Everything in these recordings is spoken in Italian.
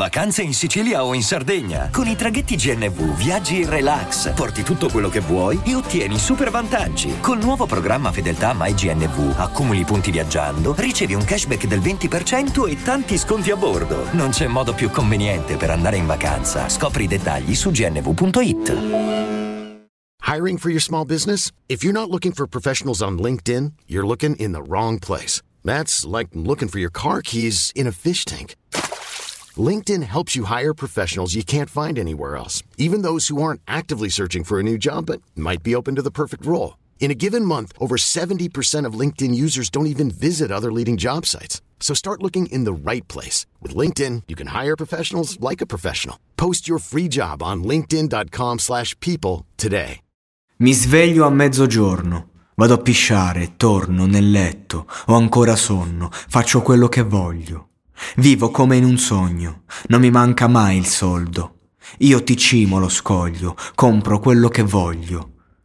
Vacanze in Sicilia o in Sardegna. Con i traghetti GNV viaggi in relax, porti tutto quello che vuoi e ottieni super vantaggi. Col nuovo programma Fedeltà MyGNV accumuli punti viaggiando, ricevi un cashback del 20% e tanti sconti a bordo. Non c'è modo più conveniente per andare in vacanza. Scopri i dettagli su gnv.it. Hiring for your small business? If you're not looking for professionals on LinkedIn, you're looking in the wrong place. That's like looking for your car keys in a fish tank. LinkedIn helps you hire professionals you can't find anywhere else, even those who aren't actively searching for a new job but might be open to the perfect role. In a given month, over 70% of LinkedIn users don't even visit other leading job sites. So start looking in the right place. With LinkedIn, you can hire professionals like a professional. Post your free job on linkedin.com/people today. Mi sveglio a mezzogiorno, vado a pisciare, torno nel letto, ho ancora sonno, faccio quello che voglio. Vivo come in un sogno, non mi manca mai il soldo. Io ti cimo lo scoglio, compro quello che voglio.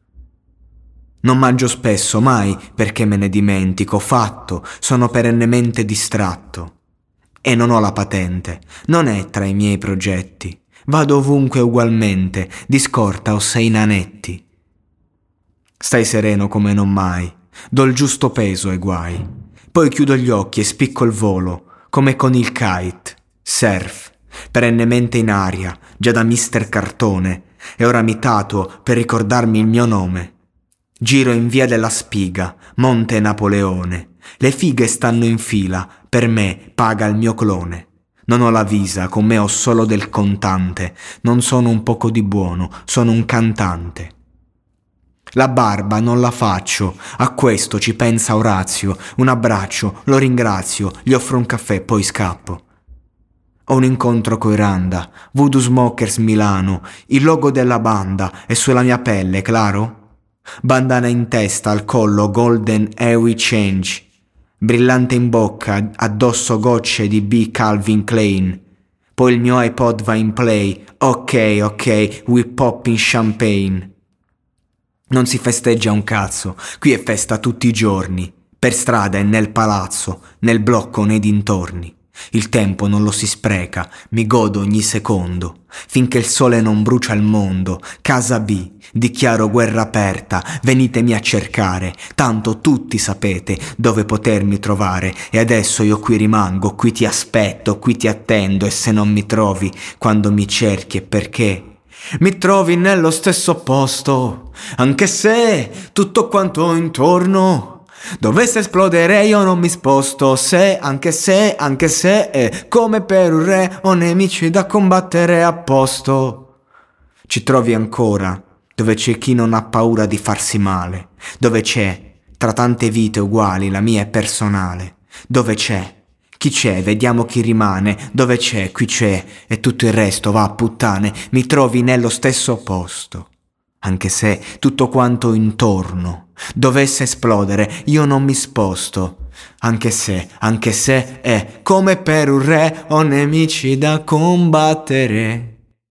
Non mangio spesso, mai, perché me ne dimentico, fatto, sono perennemente distratto. E non ho la patente, non è tra i miei progetti. Vado ovunque ugualmente, di scorta o sei nanetti. Stai sereno come non mai, do il giusto peso ai guai. Poi chiudo gli occhi e spicco il volo, come con il kite, surf, perennemente in aria, già da Mister Cartone, e ora mi tatuo per ricordarmi il mio nome. Giro in via della Spiga, Monte Napoleone, le fighe stanno in fila, per me paga il mio clone. Non ho la visa, con me ho solo del contante, non sono un poco di buono, sono un cantante. La barba non la faccio, a questo ci pensa Orazio, un abbraccio, lo ringrazio, gli offro un caffè, poi scappo. Ho un incontro coi Randa, Voodoo Smokers Milano, il logo della banda è sulla mia pelle, claro? Bandana in testa, al collo, golden Ewi Change, brillante in bocca, addosso gocce di B. Calvin Klein. Poi il mio iPod va in play, ok, we pop in champagne. Non si festeggia un cazzo, qui è festa tutti i giorni, per strada e nel palazzo, nel blocco nei dintorni. Il tempo non lo si spreca, mi godo ogni secondo, finché il sole non brucia il mondo. Casa B, dichiaro guerra aperta, venitemi a cercare, tanto tutti sapete dove potermi trovare. E adesso io qui rimango, qui ti aspetto, qui ti attendo, e se non mi trovi quando mi cerchi è perché mi trovi nello stesso posto, anche se tutto quanto intorno dovesse esplodere io non mi sposto. Se, anche se, è come per un re, ho nemici da combattere a posto. Ci trovi ancora, dove c'è chi non ha paura di farsi male, dove c'è, tra tante vite uguali, la mia è personale, dove c'è, chi c'è, vediamo chi rimane, dove c'è, qui c'è, e tutto il resto va a puttane, mi trovi nello stesso posto. Anche se tutto quanto intorno dovesse esplodere, io non mi sposto. Anche se è come per un re, ho nemici da combattere.